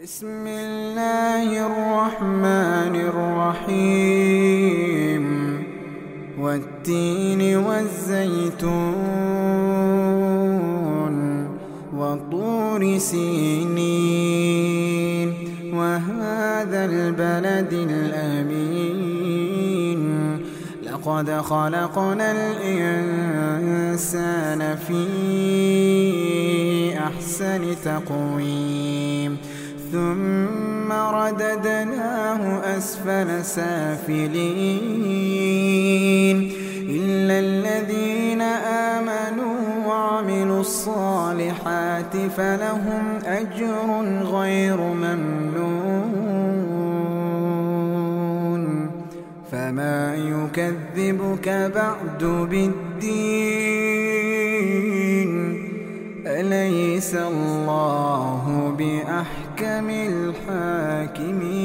بسم الله الرحمن الرحيم والتين والزيتون وطور سينين وهذا البلد الأمين لقد خلقنا الإنسان في أحسن تقويم ثم رددناه أسفل سافلين إلا الذين آمنوا وعملوا الصالحات فلهم أجر غير ممنون فما يكذبك بعد بالدين أليس الله بأحكم الحاكمين